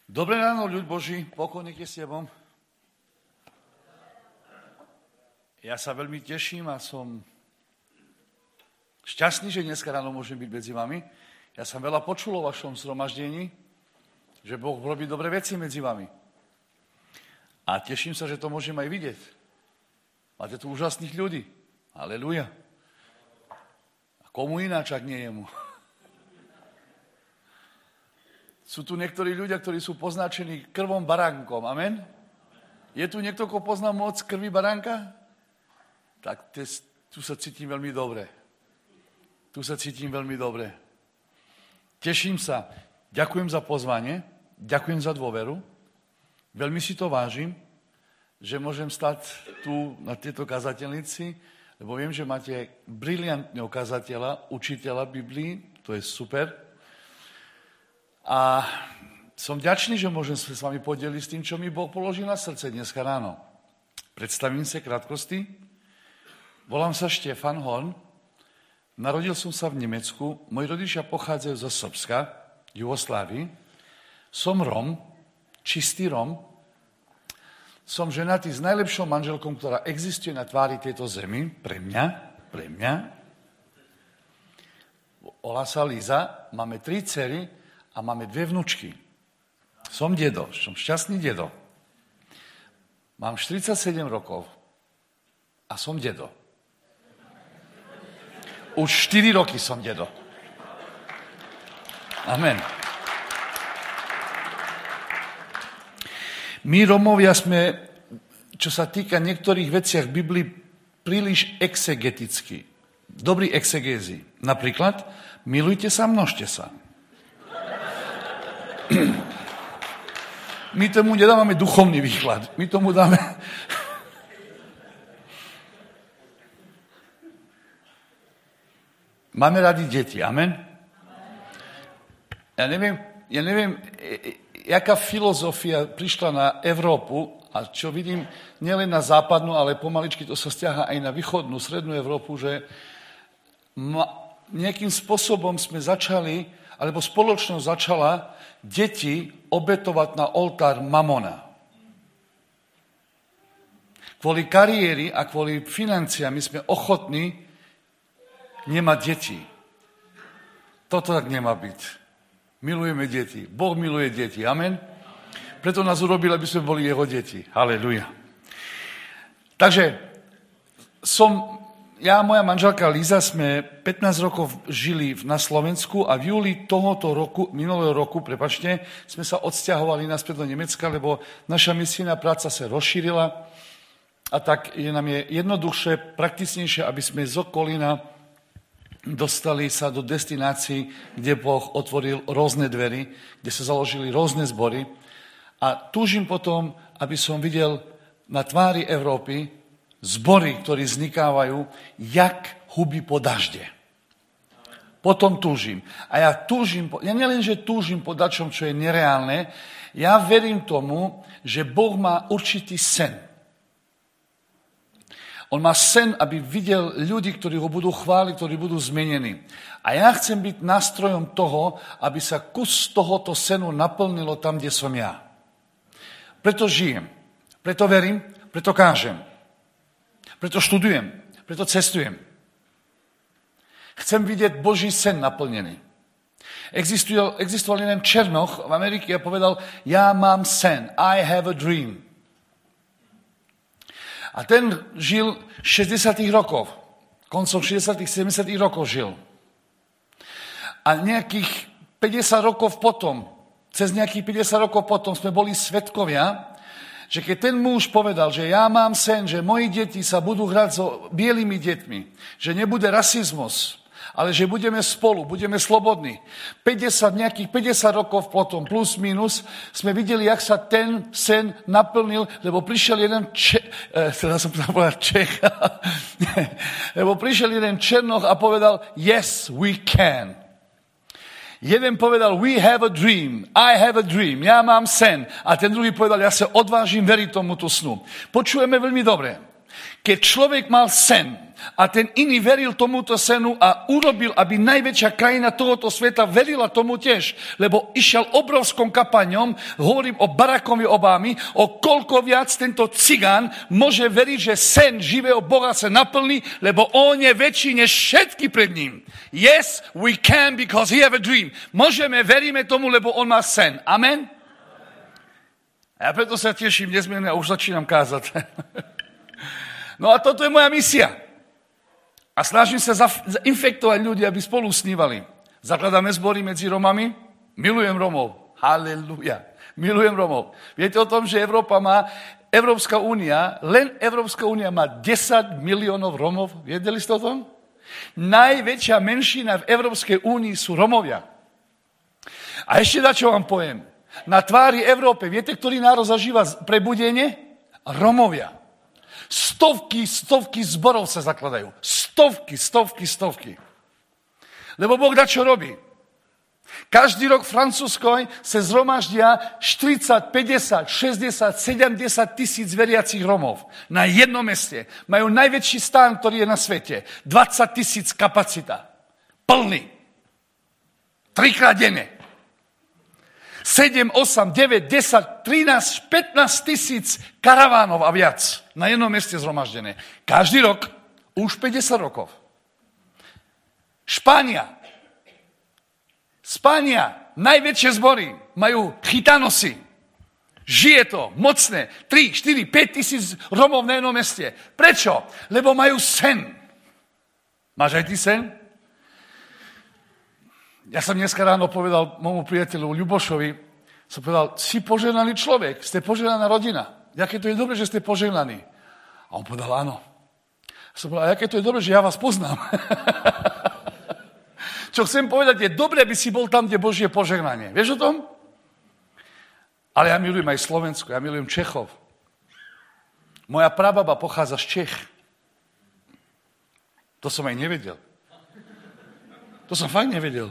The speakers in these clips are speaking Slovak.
Dobré ráno, ľud Boží, pokoj nech je s tebom. Ja sa veľmi teším a som šťastný, že dneska ráno môžem byť medzi vami. Ja som veľa počul o vašom zhromaždení, že Boh robí dobré veci medzi vami. A teším sa, že to môžem aj vidieť. Máte tu úžasných ľudí. Halelúja. A komu ináč, ak nie jemu. Sú tu niektorí ľudia, ktorí sú poznačení krvom baránkom. Amen? Je tu niekto, kto pozná moc krvi baránka? Tak tu sa cítim veľmi dobre. Tu sa cítim veľmi dobre. Teším sa. Ďakujem za pozvanie. Ďakujem za dôveru. Veľmi si to vážim, že môžem stať tu na tejto kazateľnici, lebo viem, že máte briliantného kazateľa, učiteľa Biblii. To je super. A som vďačný, že môžem sa s vami podeliť s tým, čo mi Boh položil na srdce dneska ráno. Predstavím sa krátkosti. Volám sa Štefan Horn. Narodil som sa v Nemecku. Moji rodičia pochádzajú zo Srbska, Jugoslávii. Som Rom, čistý Rom. Som ženatý s najlepšou manželkou, ktorá existuje na tvári tejto zemi. Pre mňa. Volá sa Liza. Máme 3 dcery a máme 2 vnučky. Som dedo, som šťastný dedo. Mám 47 rokov a som dedo. Už 4 roky som dedo. Amen. My Romovia sme, čo sa týka niektorých veciach v Biblii, príliš exegetickí. Dobrí exegézi. Napríklad, milujte sa, množte sa. My tomu nedávame duchovný výklad. My tomu dáme... Máme radi deti, amen? Ja neviem, jaká filozofia prišla na Európu, a čo vidím nielen na západnú, ale pomaličky to sa stiaha aj na východnú, strednú Európu, že nejakým spôsobom sme začali, alebo spoločnosť začala deti obetovať na oltár mamona. Kvôli kariéry a kvôli financiám my sme ochotní nemať deti. Toto tak nemá byť. Milujeme deti. Boh miluje deti. Amen. Preto nás urobil, aby sme boli jeho deti. Halelúja. Takže ja a moja manželka Liza sme 15 rokov žili na Slovensku a v júli minulého roku, sme sa odsťahovali naspäť do Nemecka, lebo naša misijná práca sa rozšírila a tak nám je jednoduchšie, prakticnejšie, aby sme z Okolína dostali sa do destinácií, kde Boh otvoril rôzne dvery, kde sa založili rôzne zbory. A túžim potom, aby som videl na tvári Európy zbory, ktorí vznikávajú, jak huby po dažde. Potom túžim. A ja nielen, že túžim po dačom, čo je nereálne, ja verím tomu, že Boh má určitý sen. On má sen, aby videl ľudí, ktorí ho budú chváliť, ktorí budú zmenení. A ja chcem byť nástrojom toho, aby sa kus tohoto senu naplnilo tam, kde som ja. Preto žijem, preto verím, preto kážem, preto študujem, preto cestujem. Chcem vidieť Boží sen naplnený. Existoval jeden Černoch v Amerike a povedal, ja mám sen, I have a dream. A ten žil 60. rokov. Koncom 60. 70. rokov žil. A nejakých 50 rokov potom, cez nejakých 50 rokov potom sme boli svedkovia, že keď ten muž povedal, že ja mám sen, že moji deti sa budú hrať so bielými deťmi, že nebude rasizmus, ale že budeme spolu, budeme slobodní. Nejakých 50 rokov potom, plus minus, sme videli, jak sa ten sen naplnil, lebo prišiel jeden Čech, lebo prišiel jeden Černoch a povedal, yes, we can. Jeden povedal, we have a dream, I have a dream, ja mám sen. A ten druhý povedal, ja sa odvážim veriť tomuto snu. Počujeme veľmi dobre. Keď človek mal sen a ten iný veril tomuto senu a urobil, aby najväčšia krajina tohoto sveta verila tomu tiež, lebo išiel obrovskom kampaňom, hovorím o Barackovi Obamy, o koľko viac tento cigán môže veriť, že sen živého Boha sa naplní, lebo on je väčší než všetky pred ním. Yes, we can because he have a dream. Môžeme, veríme tomu, lebo on má sen. Amen? A ja preto sa teším nezmierne a už začínam kázať. No a toto je moja misia. A snažím sa zainfektovať ľudí, aby spolu snívali. Zakladáme zbory medzi Romami. Milujem Romov. Halleluja. Milujem Romov. Viete o tom, že Európska únia má 10 miliónov Romov. Vedeli ste o tom? Najväčšia menšina v Európskej únii sú Romovia. A ešte čo vám poviem. Na tvári Európe, viete, ktorý národ zažíva prebudenie? Romovia. Stovky zborov sa zakladajú. Stovky. Lebo Boh čo robí? Každý rok v Francúzskoj sa zhromaždia 40, 50, 60, 70 tisíc veriacich Romov na jednom meste. Majú najväčší stán, ktorý je na svete. 20 tisíc kapacita. Plný. 3-krát denne. 7, 8, 9, 10, 13, 15 tisíc karavánov a viac na jednom meste zhromaždené. Každý rok, už 50 rokov. Špania, najväčšie zbory, majú chytanosy. Žije to, mocné, 3, 4, 5 tisíc Romov na jednom meste. Prečo? Lebo majú sen. Máš aj ty sen? Ja som dneska ráno povedal môjmu priateľu Ľubošovi, som povedal, si požehnaný človek, ste požehnaná rodina. Jaké to je dobré, že ste požehnaní. A on povedal, áno. Som povedal, a jaké to je dobré, že ja vás poznám. Čo chcem povedať, je dobré, aby si bol tam, kde Božie požehnanie. Vieš o tom? Ale ja milujem aj Slovensko, ja milujem Čechov. Moja prababa pochádza z Čech. To som aj nevedel. To som fakt nevedel.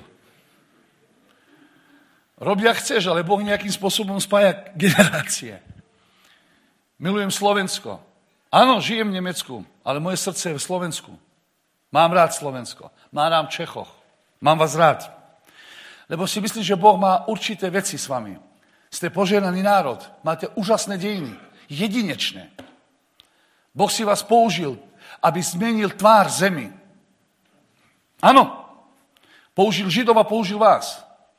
Rob, jak chceš, ale Boh nejakým spôsobom spája generácie. Milujem Slovensko. Áno, žijem v Nemecku, ale moje srdce je v Slovensku. Mám rád Slovensko. Mám rád Čechoch. Mám vás rád. Lebo si myslím, že Boh má určité veci s vami. Ste požehnaný národ. Máte úžasné dejiny. Jedinečné. Boh si vás použil, aby zmenil tvár zemi. Áno. Použil Židov a použil vás.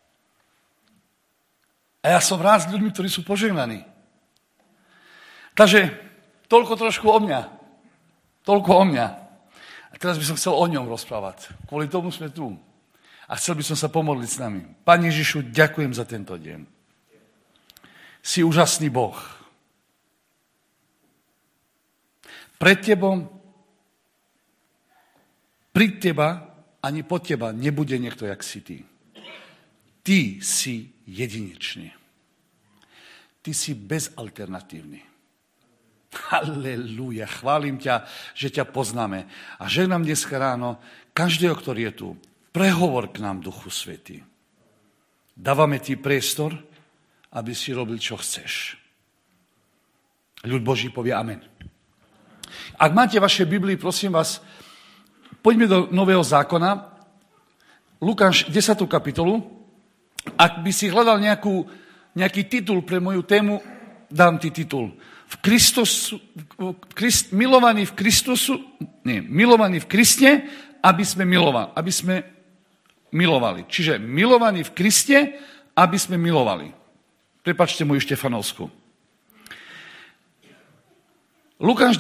A ja som rád s ľuďmi, ktorí sú požehnaní. Takže toľko trošku o mňa. Toľko o mňa. A teraz by som chcel o ňom rozprávať. Kvôli tomu sme tu. A chcel by som sa pomodliť s nami. Pane Ježišu, ďakujem za tento deň. Si úžasný Boh. Pred tebou, pri teba, ani pod teba nebude niekto, jak si ty. Ty si jedinečný. Ty si bezalternatívny. Halelúja, chválim ťa, že ťa poznáme. A žehnám dneska ráno každého, ktorý je tu. Prehovor k nám, Duchu Svätý. Dávame ti priestor, aby si robil, čo chceš. Ľud Boží povie amen. Ak máte vaše Biblii, prosím vás, poďme do Nového zákona, Lukáš 10. kapitolu. Ak by si hľadal nejaký titul pre moju tému, dám ti titul. Milovaní v Kriste, aby sme milovali. Čiže milovaní v Kriste, aby sme milovali. Prepáčte moju Štefanovskú. Lukáš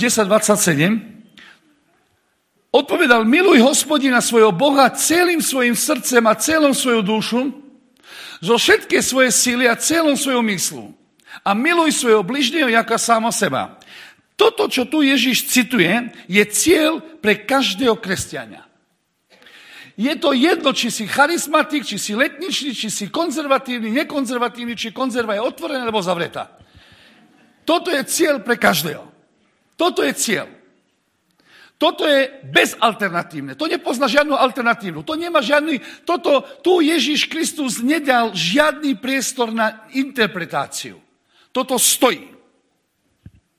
10:27 odpovedal, miluj Hospodina svojho Boha celým svojim srdcem a celou svojou dušu, zo všetké svoje síly a celou svojou myslu. A miluj svojho bližného ako samo seba. Toto, čo tu Ježiš cituje, je cieľ pre každého kresťania. Je to jedno, či si charizmatik, či si letničný, či si konzervatívny, nekonzervatívny, či konzerva je otvorená alebo zavretá. Toto je cieľ pre každého. Toto je cieľ. Toto je bezalternatívne. To nepozná žiadnu alternatívnu. To nemá žiadny... Tu Ježiš Kristus nedal žiadny priestor na interpretáciu. Toto stojí.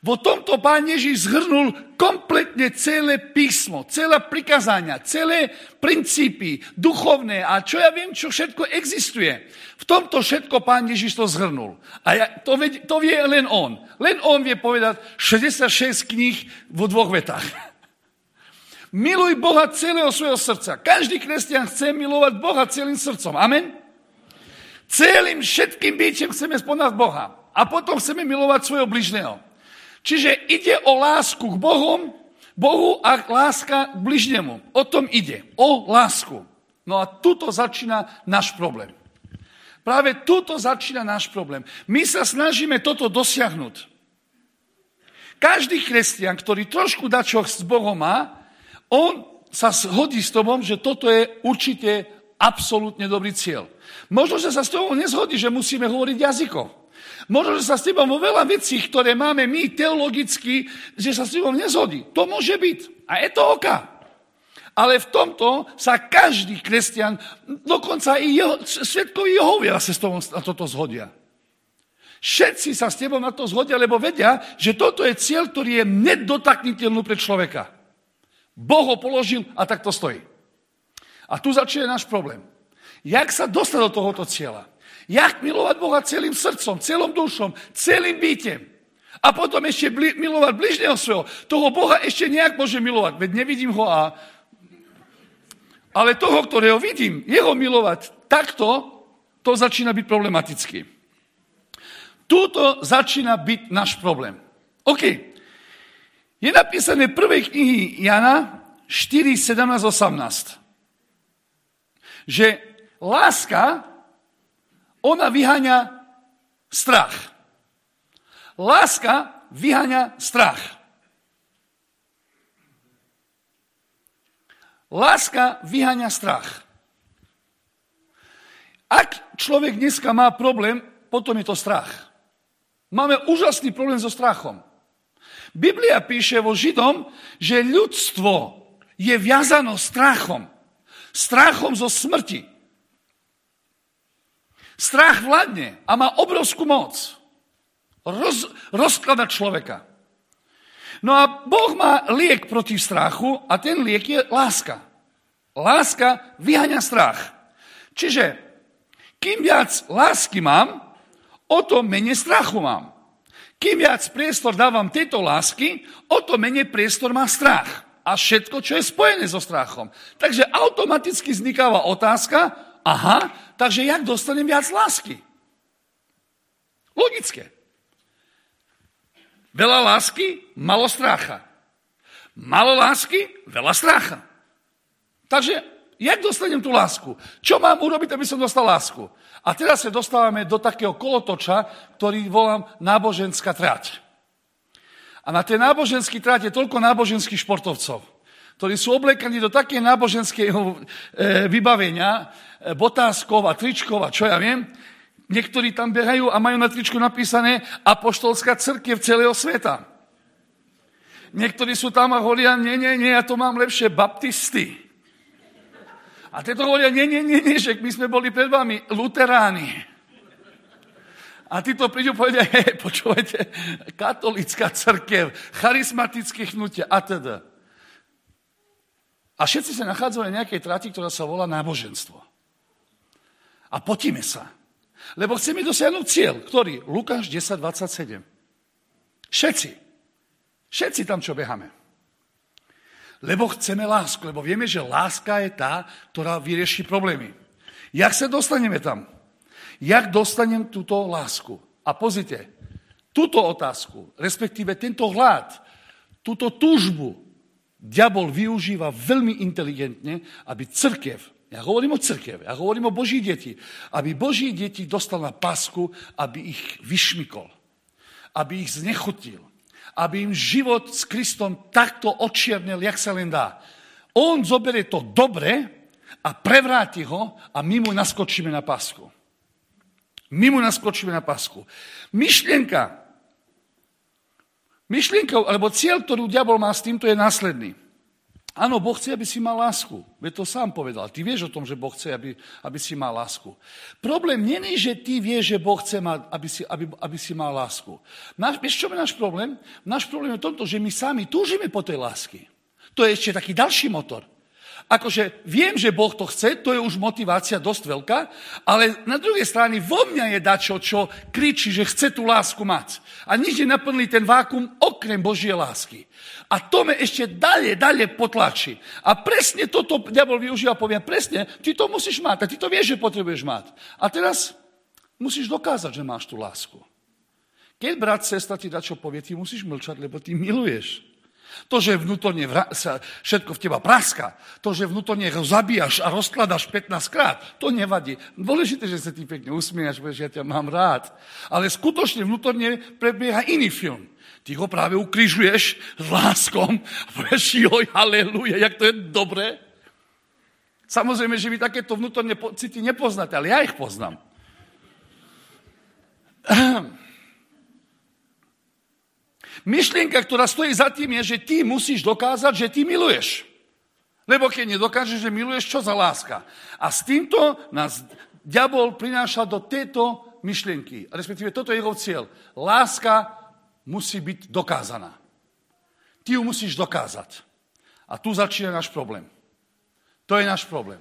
Vo tomto Pán Ježiš zhrnul kompletne celé písmo, celé prikázania, celé princípy duchovné a čo ja viem, čo všetko existuje. V tomto všetko Pán Ježiš to zhrnul. A to vie len on. Len on vie povedať 66 kníh vo 2 vetách. Miluj Boha celého svojho srdca. Každý kresťan chce milovať Boha celým srdcom. Amen? Celým všetkým bytím chceme spoznať Boha. A potom chceme milovať svojho bližného. Čiže ide o lásku k Bohu a láska k bližnemu. O tom ide. O lásku. No a tuto začína náš problém. Práve tuto začína náš problém. My sa snažíme toto dosiahnuť. Každý kresťan, ktorý trošku dačo s Bohom má, on sa hodí s tobom, že toto je určite absolútne dobrý cieľ. Možno, že sa s tobou nezhodí, že musíme hovoriť jazykom. Možno, že sa s tebou vo veľa vecí, ktoré máme my teologicky, že sa s tebou nezhodí. To môže byť. A je to oka. Ale v tomto sa každý kresťan, dokonca i svedkovi Jehovia sa s tebou na toto zhodia. Všetci sa s tebou na to zhodia, lebo vedia, že toto je cieľ, ktorý je nedotakniteľný pre človeka. Boh ho položil a tak to stojí. A tu začína náš problém. Jak sa dostať do tohoto cieľa? Jak milovať Boha celým srdcom, celým dušom, celým bytem. A potom ešte milovať bližného svojho. Toho Boha ešte nejak môže milovať. Veď nevidím ho ale toho, ktorého vidím, jeho milovať takto, to začína byť problematický. Tuto začína byť náš problém. OK. Je napísané v prvej knihy Jana 4, 17, 18. Že láska, ona vyháňa strach. Láska vyháňa strach. Láska vyháňa strach. Ak človek dneska má problém, potom je to strach. Máme úžasný problém so strachom. Biblia píše vo Židom, že ľudstvo je viazano strachom. Strachom zo smrti. Strach vládne a má obrovskú moc. Rozkladať človeka. No a Boh má liek proti strachu a ten liek je láska. Láska vyháňa strach. Čiže, kým viac lásky mám, o to menej strachu mám. Kým viac priestor dávam tejto lásky, o to menej priestor má strach. A všetko, čo je spojené so strachom. Takže automaticky vznikáva otázka, takže jak dostanem viac lásky? Logické. Veľa lásky, malo stracha. Malo lásky, veľa stracha. Takže, jak dostanem tú lásku? Čo mám urobiť, aby som dostal lásku? A teraz sa dostávame do takého kolotoča, ktorý volám náboženská trať. A na tej náboženskej trať je toľko náboženských športovcov, ktorí sú oblekaní do také náboženského vybavenia, botáskov a tričkov a čo ja viem. Niektorí tam behajú a majú na tričku napísané apoštolská cirkev celého sveta. Niektorí sú tam a hovoria, nie, ja to mám lepšie, baptisti. A tieto hovoria, nie, že my sme boli pred vami, luteráni. A títo prídu povedia, počúvajte, katolícka cirkev, charizmatické hnutie a teda. A všetci sa nachádzajú na nejakej trati, ktorá sa volá náboženstvo. A potíme sa. Lebo chceme dosiahnuť cieľ, ktorý? Lukáš 10:27. Všetci tam, čo beháme. Lebo chceme lásku, lebo vieme, že láska je tá, ktorá vyrieši problémy. Jak sa dostaneme tam? Jak dostanem túto lásku? A pozrite, túto otázku, respektíve tento hlad, túto túžbu, diabol využíva veľmi inteligentne, aby cirkev, ja hovorím o cirkeve, ja hovorím o Boží deti, aby Boží deti dostal na pásku, aby ich vyšmykol, aby ich znechutil, aby im život s Kristom takto odčiernil, jak sa len dá. On zoberie to dobre a prevráti ho a my mu naskočíme na pásku. Myšlienka, alebo cieľ, ktorú diabol má s týmto, je následný. Áno, Boh chce, aby si mal lásku. Veď to sám povedal. Ty vieš o tom, že Boh chce, aby si mal lásku. Problém nie je, že ty vieš, že Boh chce, aby si mal lásku. Vieš, čo je náš problém? Náš problém je v tomto, že my sami túžime po tej lásky. To je ešte taký ďalší motor. Akože viem, že Boh to chce, to je už motivácia dosť veľká, ale na druhej strane vo mňa je dačo, čo kričí, že chce tú lásku mať. A nič nenaplní ten vákum okrem Božie lásky. A to me ešte ďalej potlačí. A presne toto diabol využíva, poviem, presne, ty to musíš mať, a ty to vieš, že potrebuješ mať. A teraz musíš dokázať, že máš tú lásku. Keď brat, sestra ti dačo povie, ty musíš mlčať, lebo ty miluješ. To, že vnútorne sa všetko v teba praska, to, že vnútorne ho zabíjaš a rozkladaš 15 krát, to nevadí. Dôležité, že sa ti pekne usmiejaš, že ja ťa mám rád. Ale skutočne vnútorne prebieha iný film. Ty ho práve ukrižuješ s láskom a povieš, joj, halleluja, jak to je dobré. Samozrejme, že vy takéto vnútorné pocity nepoznáte, ale ja ich poznám. Myšlienka, ktorá stojí za tým, je, že ty musíš dokázať, že ty miluješ. Lebo keď nedokážeš, že miluješ, čo za láska? A s týmto nás diabol prináša do tejto myšlienky. Respektíve, toto je jeho cieľ. Láska musí byť dokázaná. Ty ju musíš dokázať. A tu začína náš problém. To je náš problém.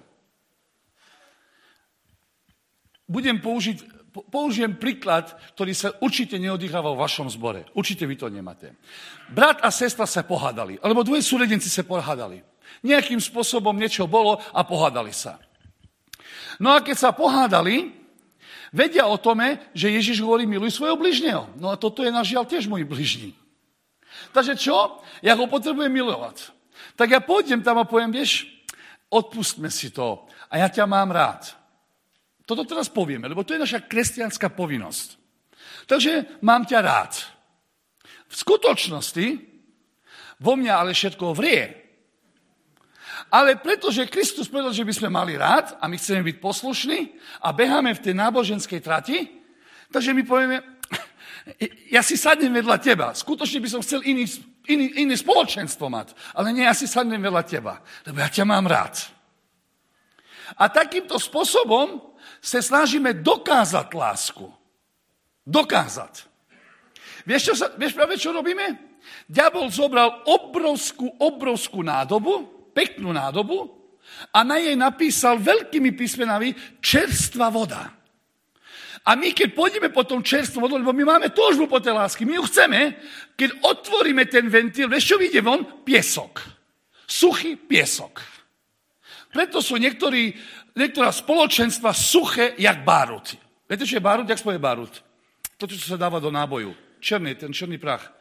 Použijem príklad, ktorý sa určite neodýchava v vašom zbore. Určite vy to nemáte. Brat a sestra sa pohádali, alebo dvoje súrodenci sa pohádali. Nejakým spôsobom niečo bolo a pohádali sa. No a keď sa pohádali, vedia o tome, že Ježiš hovorí, miluj svojho bližneho. No a toto je nažiaľ tiež môj bližný. Takže čo? Ja ho potrebujem milovať. Tak ja pôjdem tam a poviem, vieš, odpustme si to a ja ťa mám rád. Toto teraz povieme, lebo to je naša kresťanská povinnosť. Takže mám ťa rád. V skutočnosti vo mňa ale všetko vrie. Ale pretože Kristus povedal, že by sme mali rád a my chceme byť poslušní a beháme v tej náboženskej trati, takže my povieme, ja si sadnem vedľa teba. Skutočne by som chcel iné spoločenstvo mať, ale nie, ja si sadnem vedľa teba, lebo ja ťa mám rád. A takýmto spôsobom sa snažíme dokázať lásku. Dokázať. Vieš práve, čo robíme? Diabol zobral obrovskú nádobu, peknú nádobu a na jej napísal veľkými písmenami čerstvá voda. A my, keď pôjdeme po tom čerstvom vodu, lebo my máme túžbu po tej lásky, my ju chceme, keď otvoríme ten ventil, vieš, čo vyjde von? Piesok. Suchý piesok. Preto sú niektorá spoločenstva suché, jak bárut. Viete, čo je bárut? Jak spoje bárut? To, čo sa dáva do náboju. Ten černý prach.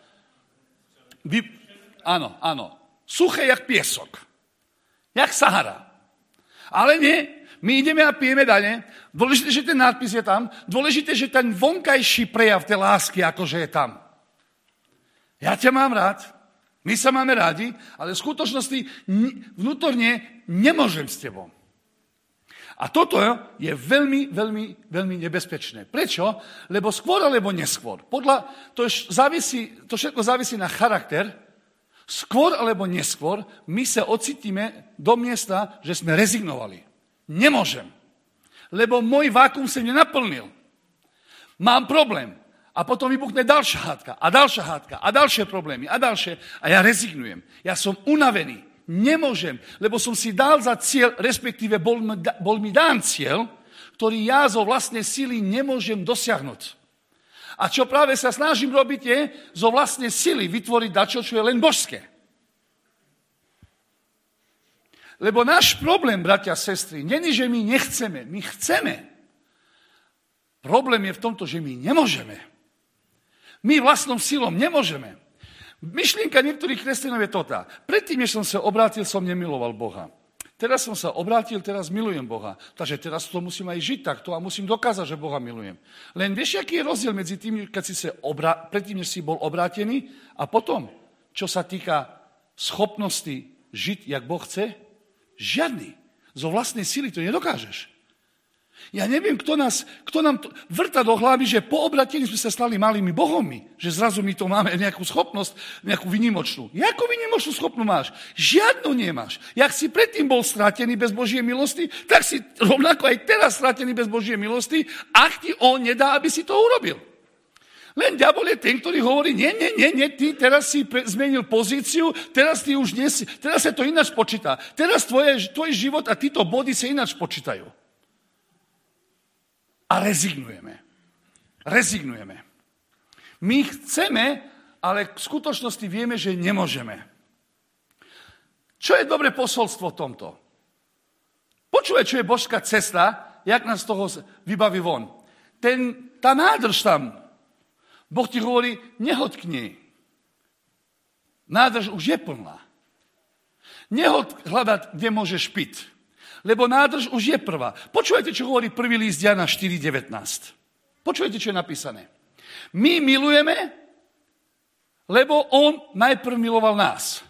Áno. Suché, jak piesok. Jak Sahara. Ale nie, my ideme a pijeme dane. Dôležité, že ten nadpis je tam. Dôležité, že ten vonkajší prejav tej lásky, akože je tam. Ja ťa mám rád. My sa máme rádi, ale v skutočnosti vnútorne nemôžem s tebou. A toto je veľmi, veľmi, veľmi nebezpečné. Prečo? Lebo skôr alebo neskôr. To všetko závisí na charakter. Skôr alebo neskôr my sa ocitíme do miesta, že sme rezignovali. Nemôžem. Lebo môj vákum sa nenaplnil. Mám problém. A potom vybuchne ďalšia hádka a ďalšie problémy a ďalšie. A ja rezignujem. Ja som unavený. Nemôžem, lebo som si dal za cieľ, respektíve bol mi dán cieľ, ktorý ja zo vlastnej sily nemôžem dosiahnuť. A čo práve sa snažím robiť je zo vlastnej sily vytvoriť dačo, čo je len božské. Lebo náš problém, bratia a sestry, není, že my nechceme. My chceme. Problém je v tomto, že my nemôžeme. My vlastnou silou nemôžeme. Myšlienka niektorých kresťanov je toto. Predtým, než som sa obrátil, som nemiloval Boha. Teraz som sa obrátil, teraz milujem Boha. Takže teraz to musím aj žiť takto a musím dokázať, že Boha milujem. Len vieš, aký je rozdiel medzi tým, keď si predtým, než si bol obrátený a potom, čo sa týka schopnosti žiť, jak Boh chce? Žiadny. Zo vlastnej sily to nedokážeš. Ja neviem, kto nám vrta do hlavy, že po obratení sme sa stali malými bohmi, že zrazu my to máme nejakú schopnosť, nejakú výnimočnú. Jakú výnimočnú schopnú máš? Žiadnu nemáš. Jak si predtým bol strátený bez Božej milosti, tak si rovnako aj teraz strátený bez Božej milosti, ak ti on nedá, aby si to urobil. Len diabol je ten, ktorý hovorí, nie, ty teraz si zmenil pozíciu, teraz sa to ináč počíta. Teraz tvoj život a títo body sa ináč počítajú. A rezignujeme. My chceme, ale v skutočnosti vieme, že nemôžeme. Čo je dobré posolstvo v tomto? Počúvaj, čo je božská cesta, jak nás z toho vybaví von. Tá nádrž tam, Boh ti hovorí, nehoď k nej. Nádrž už je plná. Nehoď hľadať, kde môžeš piť. Lebo nádrž už je prvá. Počúvajte, čo hovorí prvý list Jana 4.19. Počúvajte, čo je napísané. My milujeme, lebo on najprv miloval nás.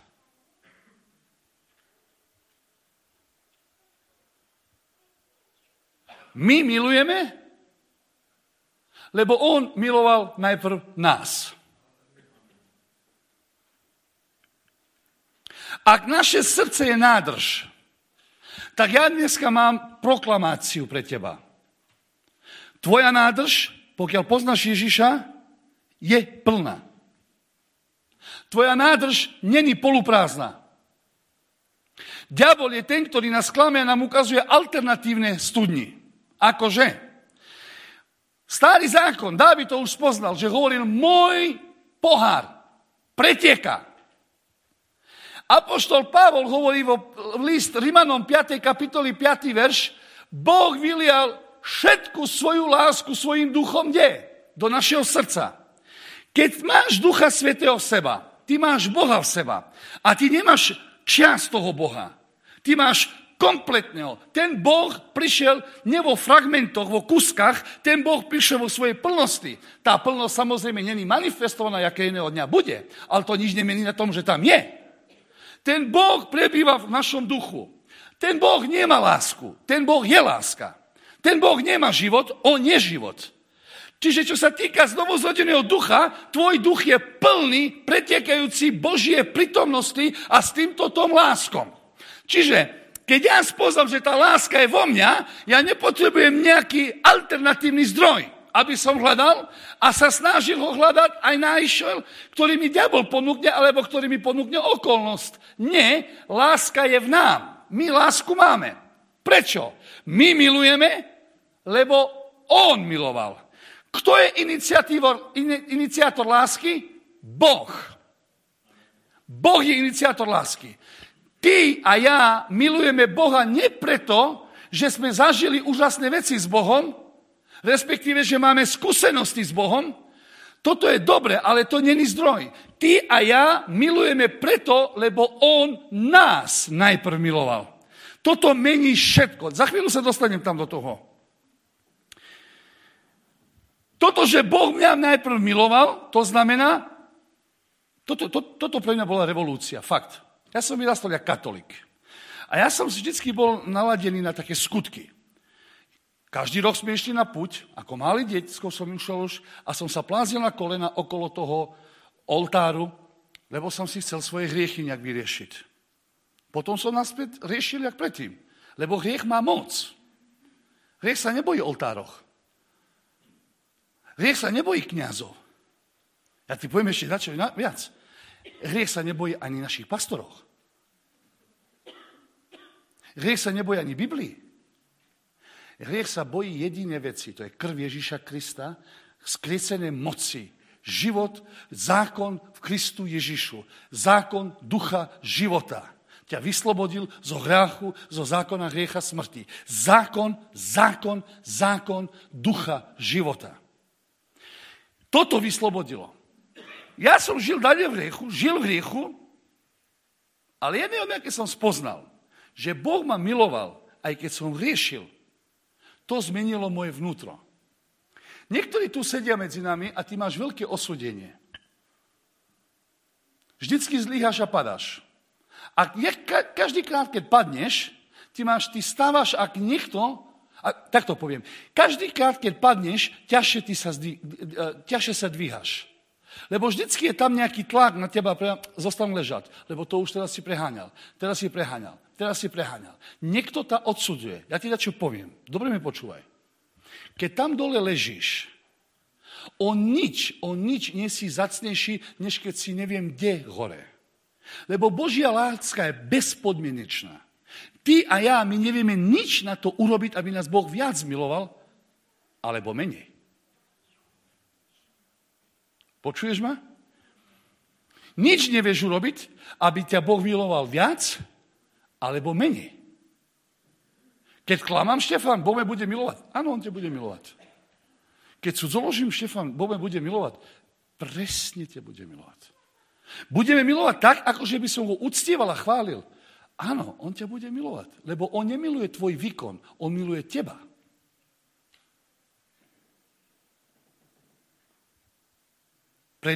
My milujeme, lebo on miloval najprv nás. Ak naše srdce je nádrž, tak ja dneska mám proklamáciu pre teba. Tvoja nádrž, pokiaľ poznáš Ježiša, je plná. Tvoja nádrž není poluprázdna. Diabol je ten, ktorý nás klame a nám ukazuje alternatívne studni. Akože? Starý zákon, Dávid to už spoznal, že hovoril, môj pohár pretieka. Apoštol Pavol hovorí v list Rimanom 5. kapitoli 5. verš, Boh vylial všetku svoju lásku svojim duchom do našeho srdca. Keď máš Ducha Svätého v seba, ty máš Boha v seba a ty nemáš časť toho Boha. Ty máš kompletného. Ten Boh prišiel nie vo fragmentoch, vo kuskách, ten Boh prišiel vo svojej plnosti. Tá plnosť samozrejme není manifestovaná, jaké iného dňa bude, ale to nič nemení na tom, že tam je. Ten Boh prebýva v našom duchu. Ten Boh nemá lásku. Ten Boh je láska. Ten Boh nemá život, on je život. Čiže čo sa týka znovuzrodeného ducha, tvoj duch je plný, pretiekajúci Božie prítomnosti a s týmto tom láskom. Čiže keď ja spoznám, že tá láska je vo mňa, ja nepotrebujem nejaký alternatívny zdroj, aby som hľadal a sa snažil ho hľadať aj našiel, ktorý mi diabol ponúkne, alebo ktorý mi ponúkne okolnosť. Nie, láska je v nám. My lásku máme. Prečo? My milujeme, lebo on miloval. Kto je iniciátor lásky? Boh. Boh je iniciátor lásky. Ty a ja milujeme Boha nie preto, že sme zažili úžasné veci s Bohom, respektíve, že máme skúsenosti s Bohom. Toto je dobre, ale to není zdroj. Ty a ja milujeme preto, lebo on nás najprv miloval. Toto mení všetko. Za chvíľu sa dostanem tam do toho. Toto, že Boh mňa najprv miloval, to znamená, toto pre mňa bola revolúcia, fakt. Ja som vyrastol jak katolík. A ja som vždycky bol naladený na také skutky. Každý rok sme išli na puť, ako malý detsko som išiel už a som sa plázil na kolena okolo toho oltáru, lebo som si chcel svoje hriechy nejak vyriešiť. Potom som naspäť riešil jak predtým, lebo hriech má moc. Hriech sa nebojí oltároch. Hriech sa nebojí kňazov. Ja ti poviem ešte dačo viac. Hriech sa nebojí ani našich pastoroch. Hriech sa nebojí ani Biblii. Hriech sa bojí jediné veci, to je krv Ježíša Krista, skriesené moci, život, zákon v Kristu Ježišu, zákon ducha života. Ťa vyslobodil zo hriachu, zo zákona hriecha smrti. Zákon ducha života. Toto vyslobodilo. Ja som žil v hriechu, ale jedného dňa, keď som spoznal, že Boh ma miloval, aj keď som hriešil, to zmenilo moje vnútro. Niektorí tu sedia medzi nami a ty máš veľké osúdenie. Vždycky zlyháš a padáš. A každý krát, keď padneš, ty stávaš ak niekto A tak to poviem. Každý krát, keď padneš, ťažšie sa dvíhaš. Lebo vždycky je tam nejaký tlak na teba, zostan ležať. Lebo to už teraz si preháňal. Niekto ťa odsudzuje. Ja ti dačo poviem. Dobre mi počúvaj. Keď tam dole ležíš, o nič nie si zacnejší, než keď si neviem kde hore. Lebo Božia láska je bezpodmienečná. Ty a ja, my nevieme nič na to urobiť, aby nás Boh viac miloval, alebo menej. Počuješ ma? Nič nevieš urobiť, aby ťa Boh miloval viac, alebo menej. Keď klamám, Štefan, Boh me bude milovať. Áno, on ťa bude milovať. Keď cudzoložím, Štefan, Boh me bude milovať. Presne ťa bude milovať. Budeme milovať tak, ako že by som ho uctieval a chválil. Áno, on ťa bude milovať, lebo on nemiluje tvoj výkon, on miluje teba. Pre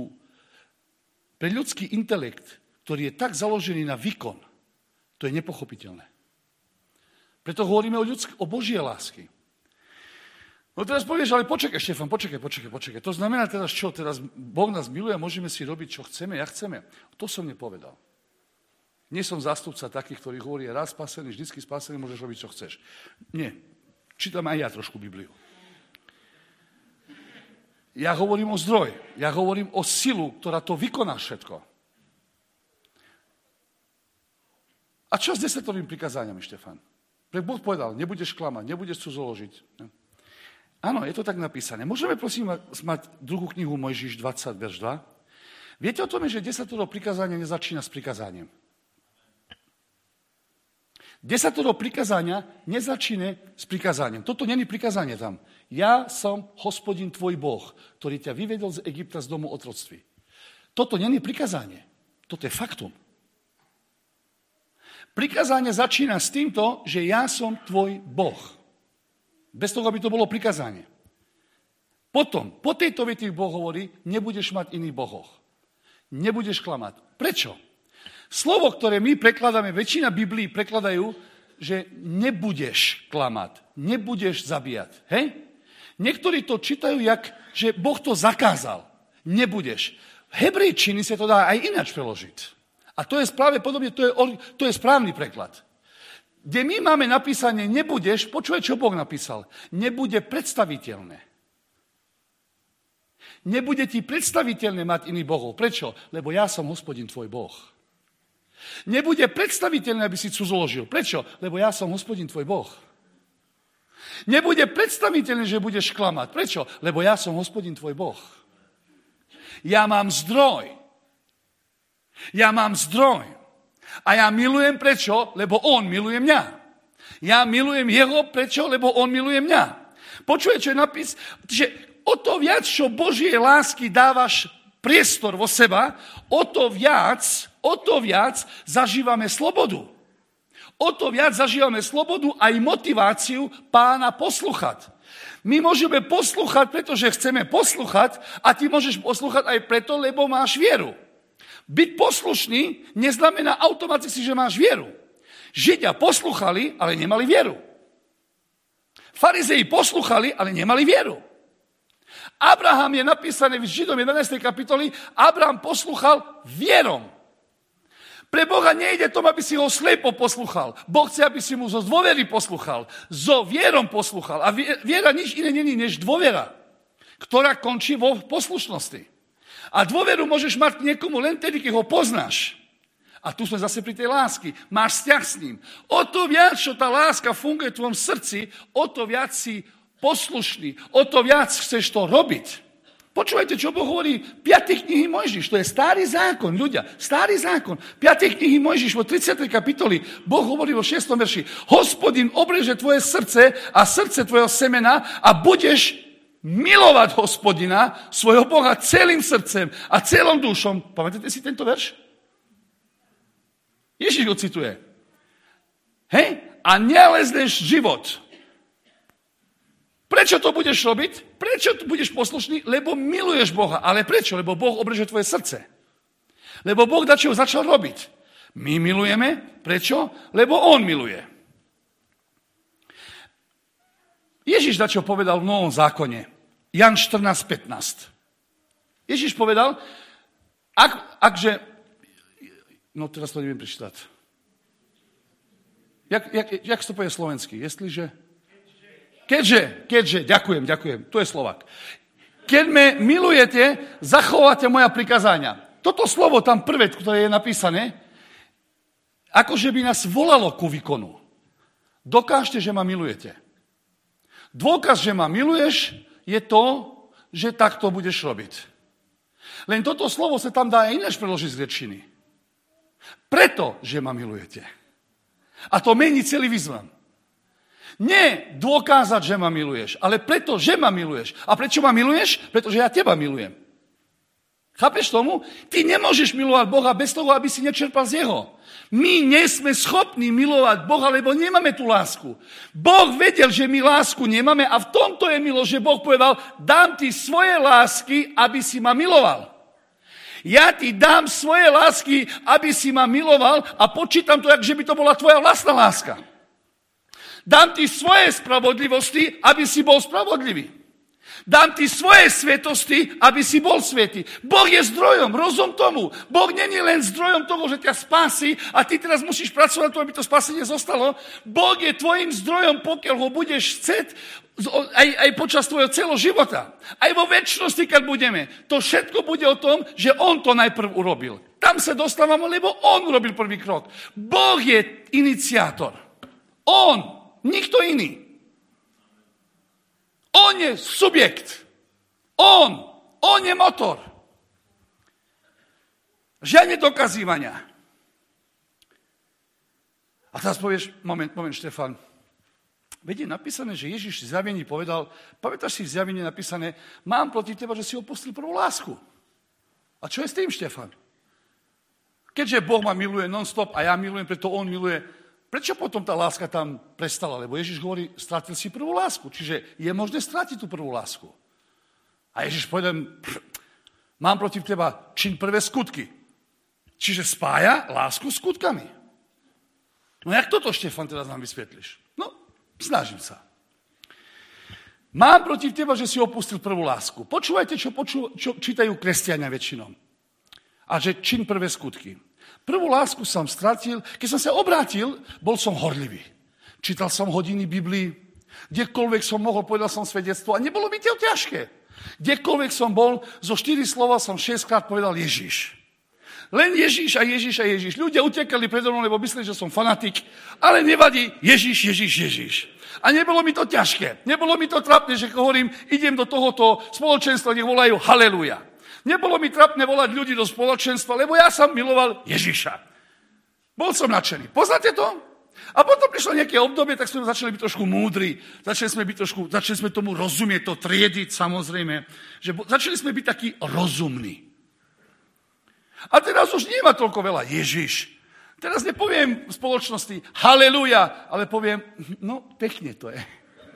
ľudský intelekt, ktorý je tak založený na výkon, to je nepochopiteľné. Preto hovoríme o Božie lásky. No teraz povieš, ale počkaj, Štefan, počkaj. To znamená teraz čo? Teraz Boh nás miluje a môžeme si robiť, čo chceme, jak chceme. To som nepovedal. Nie som zástupca takých, ktorí hovorí, raz spasený, vždycky spasený, môžeš robiť, čo chceš. Nie. Čítam aj ja trošku Bibliu. Ja hovorím o zdroj. Ja hovorím o silu, ktorá to vykoná všetko. A čo s 10 prikázáňami, Štefan? Boh povedal, nebudeš klamať, nebudeš cudzoložiť. Áno, je to tak napísané. Môžeme prosím mať druhú knihu Mojžiš 20, verš 2? Viete o tom, že 10 prikázania nezačína s prikázaním? 10 prikázania nezačína s prikázaním. Toto není prikázanie tam. Ja som Hospodin tvoj Boh, ktorý ťa vyvedol z Egypta z domu otroctví. Toto není prikázanie. Toto je faktum. Prikázanie začína s týmto, že ja som tvoj Boh. Bez toho, aby to bolo prikázanie. Potom, po tejto vete Boh hovorí, nebudeš mať iných bohoch. Nebudeš klamať. Prečo? Slovo, ktoré my prekladáme, väčšina Biblií prekladajú, že nebudeš klamať, nebudeš zabíjať. Hej? Niektorí to čítajú, že Boh to zakázal. Nebudeš. V hebrejčine sa to dá aj ináč preložiť. A to je práve podobne, to je správny preklad. Kde my máme napísané nebudeš, počúvaj, čo Boh napísal. Nebude predstaviteľné. Nebude ti predstaviteľné mať iných bohov. Prečo? Lebo ja som Hospodin tvoj Boh. Nebude predstaviteľné, aby si cudzoložil. Prečo? Lebo ja som Hospodin tvoj Boh. Nebude predstaviteľné, že budeš klamať. Prečo? Lebo ja som Hospodin tvoj Boh. Ja mám zdroj. A ja milujem prečo? Lebo on miluje mňa. Ja milujem jeho prečo? Lebo on miluje mňa. Počuje, čo je napis? Že o to viac, čo Božie lásky dávaš priestor vo seba, o to viac zažívame slobodu. O to viac zažívame slobodu aj motiváciu Pána poslúchať. My môžeme poslúchať, pretože chceme poslúchať a ty môžeš poslúchať aj preto, lebo máš vieru. Byť poslušný neznamená automaticky, že máš vieru. Židia poslúchali, ale nemali vieru. Farizei poslúchali, ale nemali vieru. Abraham je napísané v Židom 11. kapitoli, Abraham poslúchal vierom. Pre Boha nejde tom, aby si ho slepo poslúchal. Boh chce, aby si mu zo dôvery poslúchal. Zo vierom poslúchal. A viera nič iné není než dôvera, ktorá končí vo poslušnosti. A dôveru môžeš mať k niekomu len tedy, keď ho poznáš. A tu sme zase pri tej lásky. Máš vzťah s ním. O to viac, čo tá láska funguje v tvojom srdci, o to viac si poslušný, o to viac chceš to robiť. Počúvajte, čo Boh hovorí 5. knihy Mojžiš. To je starý zákon, ľudia. Starý zákon. 5. knihy Mojžiš, vo 30. kapitoli, Boh hovorí vo 6. verši. Hospodin obreže tvoje srdce a srdce tvojho semena a budeš milovať Hospodina, svojho Boha celým srdcem a celom dušom. Pamätáte si tento verš? Ježiš ho cituje. Hej? A nelezneš život. Prečo to budeš robiť? Prečo budeš poslušný? Lebo miluješ Boha. Ale prečo? Lebo Boh obreže tvoje srdce. Lebo Boh dačo začal robiť. My milujeme. Prečo? Lebo on miluje. Ježiš dačo povedal v Novom zákone. Jan 14:15. Ježiš povedal, akže... No teraz to neviem prečítať. Jak sa to povie slovensky? Jestliže... Keďže, ďakujem, tu je Slovák. Keď me milujete, zachováte moja prikazania. Toto slovo tam prvé, ktoré je napísané, akože by nás volalo ku výkonu. Dokážte, že ma milujete. Dôkaz, že ma miluješ, je to, že takto budeš robiť. Len toto slovo sa tam dá aj ináč preložiť z gréčtiny. Preto, že ma milujete. A to mení celý význam. Nie dokázať, že ma miluješ, ale preto, že ma miluješ. A prečo ma miluješ? Pretože ja teba milujem. Chápeš tomu? Ty nemôžeš milovať Boha bez toho, aby si nečerpal z Jeho. My nie sme schopní milovať Boha, lebo nemáme tú lásku. Boh vedel, že my lásku nemáme a v tomto je milosť, že Boh povedal, dám ti svoje lásky, aby si ma miloval. Ja ti dám svoje lásky, aby si ma miloval a počítam to, že by to bola tvoja vlastná láska. Dám ti svoje spravodlivosti, aby si bol spravodlivý. Dám ti svoje svetosti, aby si bol svätý. Boh je zdrojom, rozum tomu. Boh není len zdrojom toho, že ťa spásí a ty teraz musíš pracovať na to, aby to spasenie zostalo. Boh je tvojim zdrojom, pokiaľ ho budeš chcieť aj počas tvojho celého života. Aj vo večnosti, keď budeme. To všetko bude o tom, že on to najprv urobil. Tam sa dostávame, lebo on urobil prvý krok. Boh je iniciátor. On, nikto iný. On je subjekt. On je motor. Žiadne dokazívania. A teraz povieš, moment, Štefan. Veď je napísané, že Ježiš v zjavení povedal, pamätáš si v zjavení napísané, mám proti teba, že si opustil prvú lásku. A čo je s tým, Štefan? Keďže Boh ma miluje non-stop a ja milujem, preto on miluje, prečo potom tá láska tam prestala? Lebo Ježiš hovorí, stratil si prvú lásku. Čiže je možné stratiť tú prvú lásku. A Ježiš povedal, mám proti teba čin prvé skutky. Čiže spája lásku s skutkami. No jak toto, Štefan, teraz nám vysvetlíš? No, snažím sa. Mám proti teba, že si opustil prvú lásku. Počúvajte, čo čítajú kresťania väčšinou. A že čin prvé skutky. Prvú lásku som stratil, keď som sa obrátil, bol som horlivý. Čítal som hodiny Biblii, kdekoľvek som mohol, povedal som svedectvo a nebolo mi to ťažké. Kdekoľvek som bol, zo 4 slova som 6-krát povedal Ježiš. Len Ježiš a Ježiš a Ježiš. Ľudia utekali predo mnou, lebo mysleli, že som fanatik, ale nevadí, Ježiš, Ježiš, Ježiš. A nebolo mi to ťažké, nebolo mi to trápne, že hovorím, idem do tohoto spoločenstva, kde volajú haleluja. Nebolo mi trápne volať ľudí do spoločenstva, lebo ja som miloval Ježiša. Bol som nadšený. Poznáte to? A potom prišlo nejaké obdobie, tak sme začali byť trošku múdri, začali sme tomu rozumieť, to triediť samozrejme, že začali sme byť takí rozumní. A teraz už nie ma toľko veľa Ježiš. Teraz nepoviem v spoločnosti haleluja, ale poviem, no pekne to je.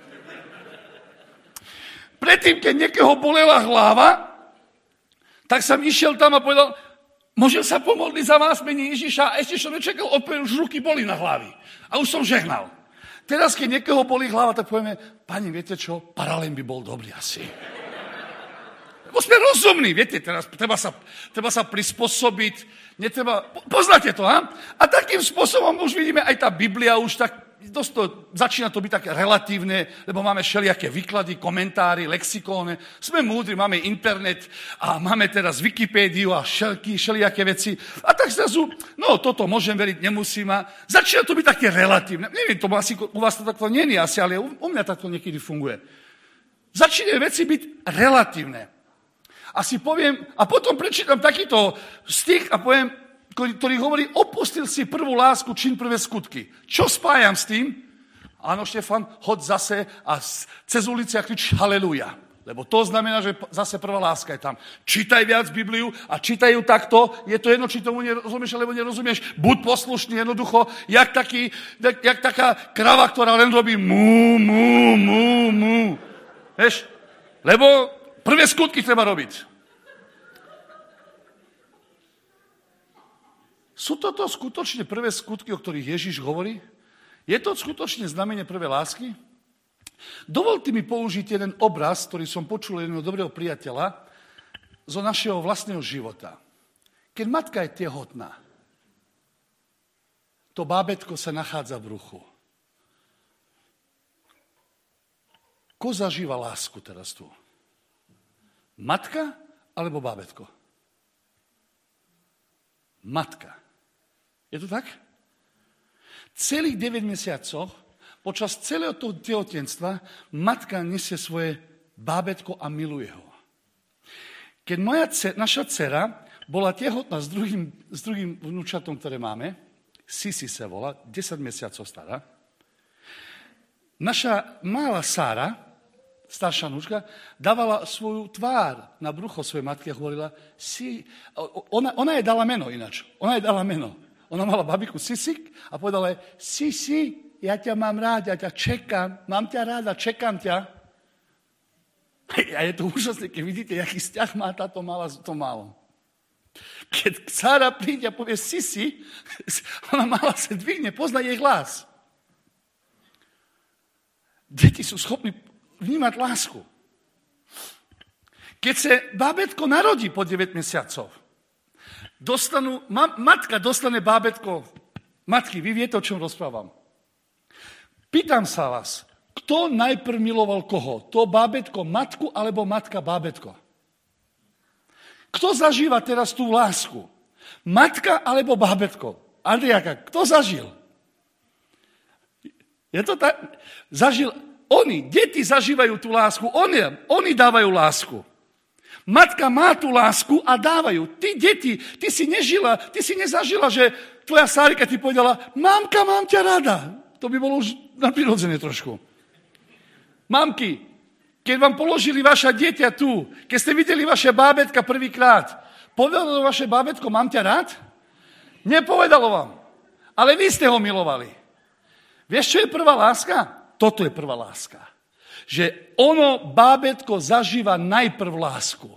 Predtým, keď niekoho bolela hlava, tak som išiel tam a povedal, môžem sa pomodliť za vás, mene Ježiša? A ešte som nečakal, odpovedal, už ruky boli na hlavi. A už som žehnal. Teraz, keď niekoho bolí hlava, tak povieme, pani, viete čo, paralén by bol dobrý asi. Lebo sme rozumní, viete, teraz treba sa prispôsobiť, poznáte to, ha? A takým spôsobom už vidíme, aj tá Biblia už tak, začína to byť také relatívne, lebo máme všelijaké výklady, komentári, lexikóne, sme múdri, máme internet a máme teraz Wikipédiu a všelijaké veci. A tak zrazu, no toto môžem veriť, nemusím. A začína to byť také relatívne. Neviem, to asi u vás to takto nie je asi, ale u mňa takto niekedy funguje. Začínajú veci byť relatívne. A si poviem, a potom prečítam takýto stih a poviem, ktorý hovorí, opustil si prvú lásku, čin prvé skutky. Čo spájam s tým? Áno, Štefan, hoď zase a cez ulici a krič haleluja. Lebo to znamená, že zase prvá láska je tam. Čítaj viac Bibliu a čítaj ju takto. Je to jedno, či tomu nerozumieš, alebo nerozumieš. Buď poslušný jednoducho, jak taká krava, ktorá len robí mú, mú, mú, mú. Vieš? Lebo prvé skutky treba robiť. Sú toto skutočne prvé skutky, o ktorých Ježiš hovorí? Je to skutočne znamenie prvé lásky? Dovolte mi použiť jeden obraz, ktorý som počul jedného dobrého priateľa zo našeho vlastného života. Keď matka je tehotná, to bábätko sa nachádza v bruchu. Ko zažíva lásku teraz tu? Matka alebo bábätko? Matka. Je to tak? Celých 9 mesiacov, počas celého toho tehotenstva, matka nesie svoje bábätko a miluje ho. Keď naša dcera bola tehotná s druhým vnúčatom, ktoré máme, Sisi sa volá, 10 mesiacov stará, naša malá Sára, staršia vnúčka, dávala svoju tvár na brucho svojej matky a hovorila, ona jej dala meno ináč. Ona mala babiku Sisik a povedala jej, Sisi, ja ťa mám rád, ja ťa čekám, mám ťa ráda, čekám ťa. A je to úžasné, keď vidíte, aký vzťah má táto malá s tom malom. Keď Sára príde a povie Sisi, ona malá sa dvihne, pozná jej hlas. Deti sú schopní vnímať lásku. Keď sa bábätko narodí po 9 mesiacov, matka dostane bábätko matky. Vy viete, o čom rozprávam. Pýtam sa vás, kto najprv miloval koho? To bábätko matku alebo matka bábätko? Kto zažíva teraz tú lásku? Matka alebo bábätko? Andriáka, kto zažil? Je to tak? Zažil oni. Deti zažívajú tú lásku. Oni dávajú lásku. Matka má tú lásku a dávajú. Ty, deti, ty si nezažila, že tvoja Sárika ti povedala, mamka, mám ťa rada. To by bolo už nadprirodzené trošku. Mamky, keď vám položili vaša dieťa tu, keď ste videli vaše bábätka prvýkrát, povedalo vaše bábätko, mám ťa rád? Nepovedalo vám. Ale vy ste ho milovali. Vieš, čo je prvá láska? Toto je prvá láska. Že bábätko zažíva najprv lásku.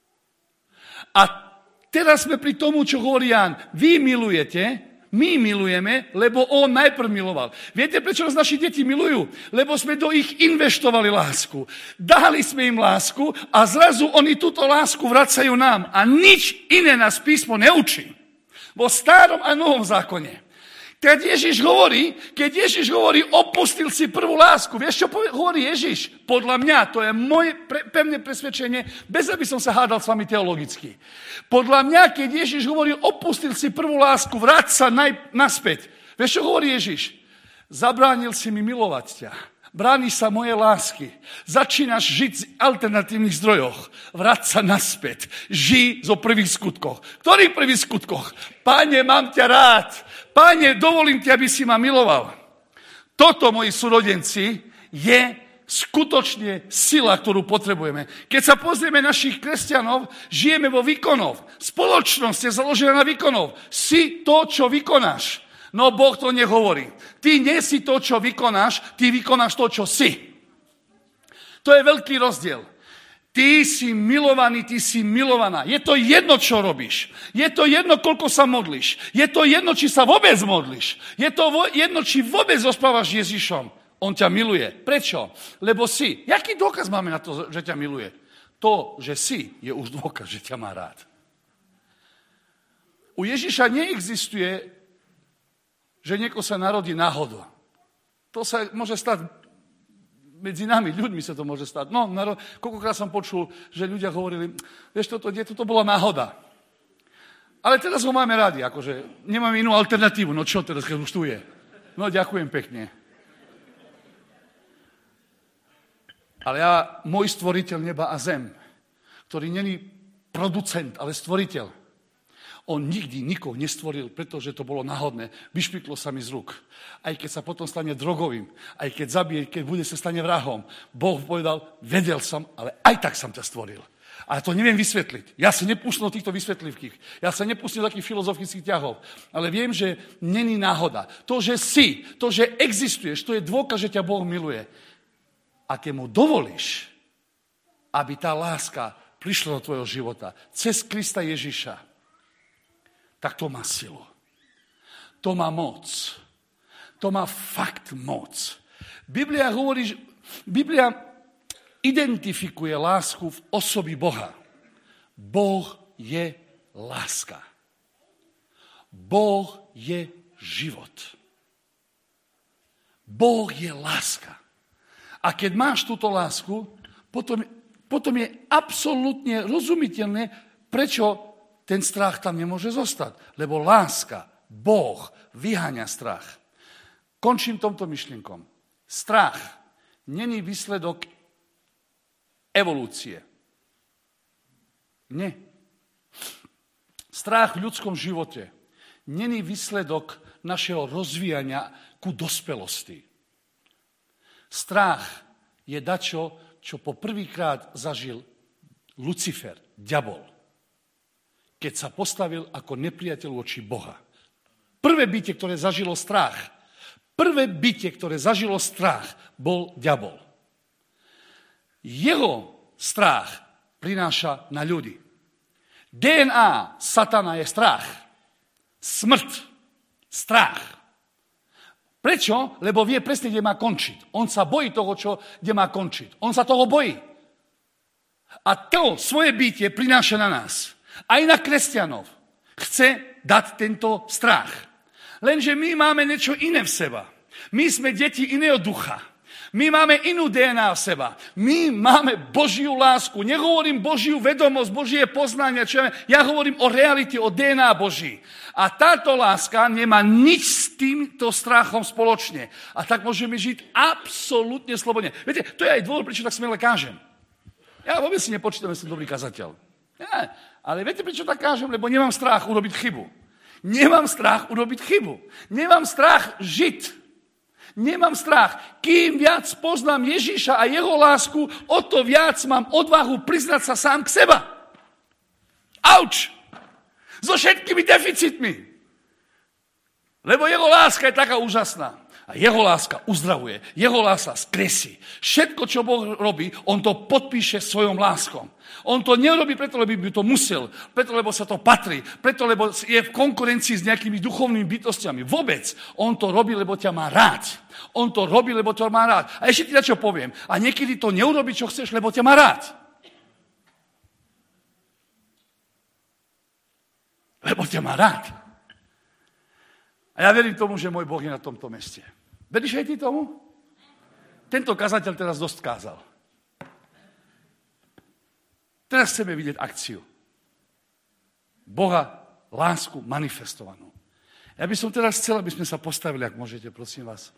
A teraz sme pri tomu, čo hovorí Ján. Vy milujete, my milujeme, lebo on najprv miloval. Viete, prečo nás naši deti milujú? Lebo sme do ich investovali lásku. Dali sme im lásku a zrazu oni túto lásku vracajú nám. A nič iné nás písmo neučí. Vo starom a novom zákone. Keď Ježiš hovorí, opustil si prvú lásku. Vieš, čo hovorí Ježiš? Podľa mňa, to je moje pevné presvedčenie, bez aby som sa hádal s vami teologicky. Podľa mňa, keď Ježiš hovorí, opustil si prvú lásku, vráť sa naspäť. Vieš, čo hovorí Ježiš? Zabránil si mi milovať ťa. Brániš sa moje lásky. Začínaš žiť z alternatívnych zdrojoch. Vráť sa naspäť. Žij zo prvých skutkoch. Ktorých prvých skutkoch? Páne, mám ťa rád. Páne, dovolím ti, aby si ma miloval. Toto, moji súrodenci, je skutočne sila, ktorú potrebujeme. Keď sa pozrieme našich kresťanov, žijeme vo výkonoch. Spoločnosť je založená na výkonoch. Si to, čo vykonáš. No Boh to nehovorí. Ty nie si to, čo vykonáš, ty vykonáš to, čo si. To je veľký rozdiel. Ty si milovaný, ty si milovaná. Je to jedno, čo robíš. Je to jedno, koľko sa modlíš. Je to jedno, či sa vôbec modlíš. Je to jedno, či vôbec rozprávaš s Ježišom. On ťa miluje. Prečo? Lebo si. Jaký dôkaz máme na to, že ťa miluje? To, že si, je už dôkaz, že ťa má rád. U Ježiša neexistuje, že niekto sa narodí náhodou. To sa môže stať medzi nami, ľuďmi sa to môže stať. No, koľkokrát som počul, že ľudia hovorili, vieš, toto dieťa, to bola náhoda. Ale teraz ho máme radi, akože nemáme inú alternatívu. No čo teraz, keď už tu je? No, ďakujem pekne. Ale môj stvoriteľ neba a zem, ktorý není producent, ale stvoriteľ, on nikdy nikoho nestvoril, pretože to bolo náhodné. Vyšpiklo sa mi z rúk. Aj keď sa potom stane drogovým, aj keď zabije, keď bude sa stane vrahom. Boh povedal, vedel som, ale aj tak som ťa stvoril. A to neviem vysvetliť. Ja sa nepúšťam do týchto vysvetlivkých. Ja sa nepúšťam do takých filozofických ťahov. Ale viem, že není náhoda. To, že si, to, že existuješ, to je dôkaz, že ťa Boh miluje. A keď mu dovolíš, aby tá láska prišla do tvojho života cez Krista Ježiša, tak to má silu. To má moc. To má fakt moc. Biblia hovorí, Biblia identifikuje lásku v osobi Boha. Boh je láska. Boh je život. Boh je láska. A keď máš túto lásku, potom je absolútne rozumiteľné, prečo ten strach tam nemôže zostať. Lebo láska, Boh, vyháňa strach. Končím tomto myšlienkom. Strach není výsledok evolúcie. Nie. Strach v ľudskom živote není výsledok našeho rozvíjania ku dospelosti. Strach je dačo, čo po prvýkrát zažil Lucifer, diabol, keď sa postavil ako nepriateľ voči Boha. Prvé bytie, ktoré zažilo strach, bol diabol. Jeho strach prináša na ľudí. DNA satana je strach. Smrť. Strach. Prečo? Lebo vie presne, kde má končiť. On sa bojí toho, kde má končiť. On sa toho bojí. A to svoje bytie prináša na nás. Aj na kresťanov. Chce dať tento strach. Lenže my máme niečo iné v seba. My sme deti iného ducha. My máme inú DNA v seba. My máme Božiu lásku. Nehovorím Božiu vedomosť, Božie poznanie. Ja hovorím o realite, o DNA Boží. A táto láska nemá nič s týmto strachom spoločne. A tak môžeme žiť absolútne slobodne. Viete, to je aj dôvod, prečo tak smele kážem. Ja vôbec si nepočítam, že som dobrý kazateľ. Ja, ale viete, prečo tak kážem? Lebo nemám strach urobiť chybu. Nemám strach urobiť chybu. Nemám strach žiť. Nemám strach. Kým viac poznám Ježíša a jeho lásku, o to viac mám odvahu priznať sa sám k seba. Auč! So všetkými deficitmi. Lebo jeho láska je taká úžasná. A jeho láska uzdravuje. Jeho láska skresí. Všetko, čo Boh robí, on to podpíše svojom láskom. On to nerobí preto, lebo by to musel. Preto, lebo sa to patrí. Preto, lebo je v konkurencii s nejakými duchovnými bytostiami. Vôbec. On to robí, lebo ťa má rád. On to robí, lebo ťa má rád. A ešte ti na čo poviem. A niekedy to neurobí, čo chceš, lebo ťa má rád. Lebo ťa má rád. A ja verím tomu, že môj Boh je na tomto meste. Veríš aj ty tomu? Tento kazateľ teraz dosť kázal. Teraz chceme vidieť akciu. Boha, lásku manifestovanú. Ja by som teraz chcel, aby sme sa postavili, ak môžete, prosím vás.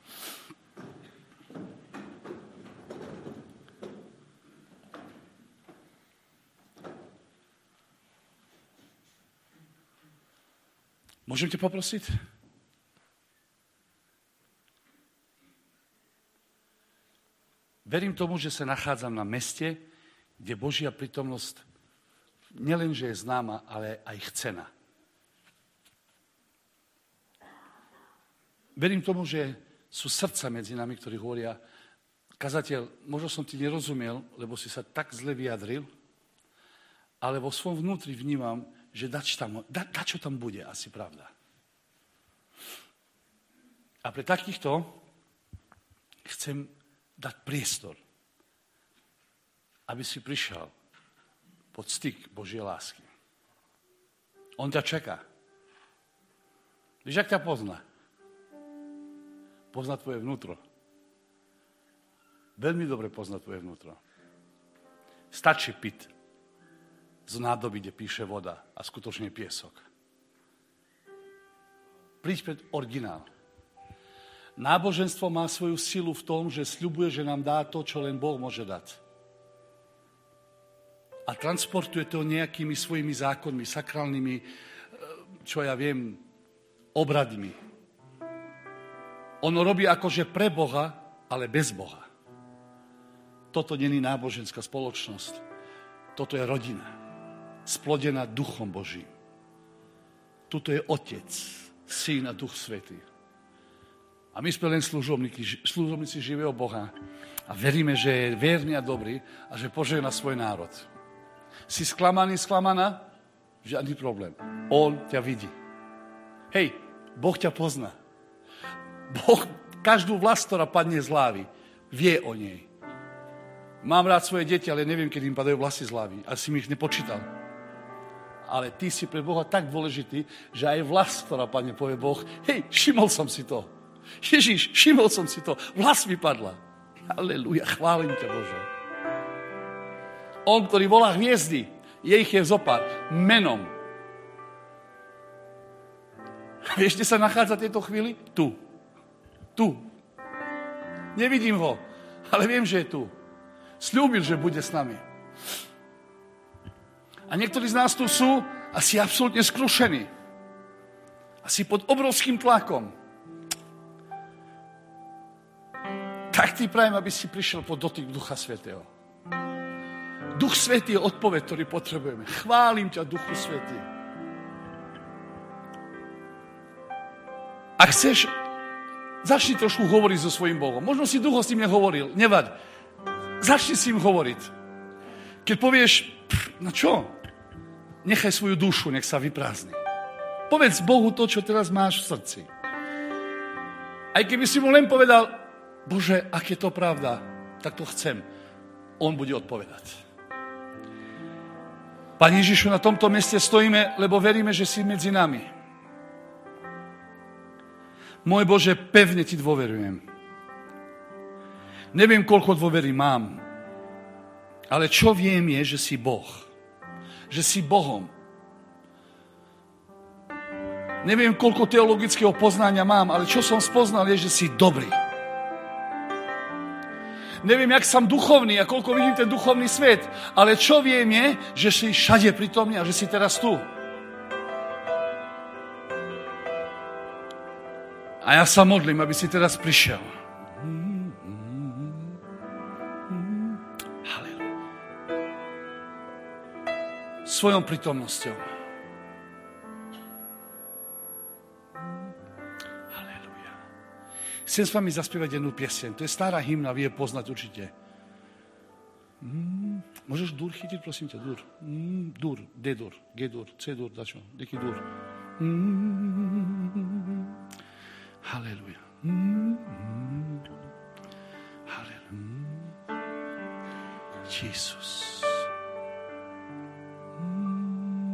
Môžem te poprosiť? Verím tomu, že sa nachádzam na meste, kde Božia prítomnosť nielenže je známa, ale aj chcená. Verím tomu, že sú srdca medzi nami, ktorí hovoria, kazateľ, možno som ti nerozumiel, lebo si sa tak zle vyjadril, ale vo svojom vnútri vnímam, že dačo tam bude, asi pravda. A pre takýchto chcem dať priestor, aby si prišiel pod styk Božej lásky. On ťa čaká. Víš, jak ťa pozná? Pozná tvoje vnútro. Veľmi dobre pozná tvoje vnútro. Stačí piť z nádoby, kde píše voda a skutočne piesok. Príď pred originál. Náboženstvo má svoju silu v tom, že sľubuje, že nám dá to, čo len Boh môže dať. A transportuje to nejakými svojimi zákonmi, sakrálnymi, čo ja viem, obradmi. Ono robí akože pre Boha, ale bez Boha. Toto není náboženská spoločnosť. Toto je rodina, splodená Duchom Božím. Tuto je Otec, Syn a Duch Svätý. A my sme len služobníci živého Boha a veríme, že je verný a dobrý a že požehná svoj národ. Si sklamaný, sklamaná? Žiadny problém. On ťa vidí. Hej, Boh ťa pozná. Boh každú vlast, ktorá padne z hlavy, vie o nej. Mám rád svoje deti, ale neviem, kedy im padajú vlasy z hlavy. Asi mi ich nepočítal. Ale ty si pre Boha tak dôležitý, že aj vlas, ktorá padne, povie Boh, hej, všimol som si to. Ježiš, všimol som si to. Vlas mi padla. Halelúja, chválim ťa, Bože. On, ktorý volá hviezdy, ich je zopár, menom. Vieš, kde sa nachádza v tejto chvíli? Tu. Nevidím ho, ale viem, že je tu. Sľúbil, že bude s nami. A niektorí z nás tu sú asi absolútne skrušení. Asi pod obrovským tlakom. Tak ti prajem, aby si prišiel pod dotyk Ducha Svätého. Duch Svätý je odpoveď, ktorý potrebujeme. Chválim ťa, Duchu Svätý. Ak chceš, začni trošku hovoriť so svojím Bohom. Možno si ducho s tým nehovoril, nevaď. Začni s ním hovoriť. Keď povieš, no čo? Nechaj svoju dušu, nech sa vyprázdni. Povedz Bohu to, čo teraz máš v srdci. Aj keby si mu len povedal, Bože, ak je to pravda, tak to chcem. On bude odpovedať. Pane Ježišu, na tomto mieste stojíme, lebo veríme, že si medzi nami. Môj Bože, pevne ti dôverujem. Neviem, koľko dôvery mám, ale čo viem je, že si Boh. Že si Bohom. Neviem, koľko teologického poznania mám, ale čo som spoznal je, že si dobrý. Neviem, jak som duchovný a koľko vidím ten duchovný svet, ale čo viem je, že si všade pritomný a že si teraz tu. A ja sa modlím, aby si teraz prišiel. Svojou prítomnosťou. Halelúja. Chcem s vami zaspievať jednu pieseň. To je stará hymna, vy je poznať určite. Môžeš dur chytiť, prosím ťa, dur. Dur, D-dur, G-dur, C-dur, dačo, deký dur. Halelúja. Halelúja. Jesus.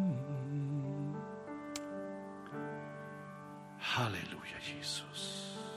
Halleluja, Jesus.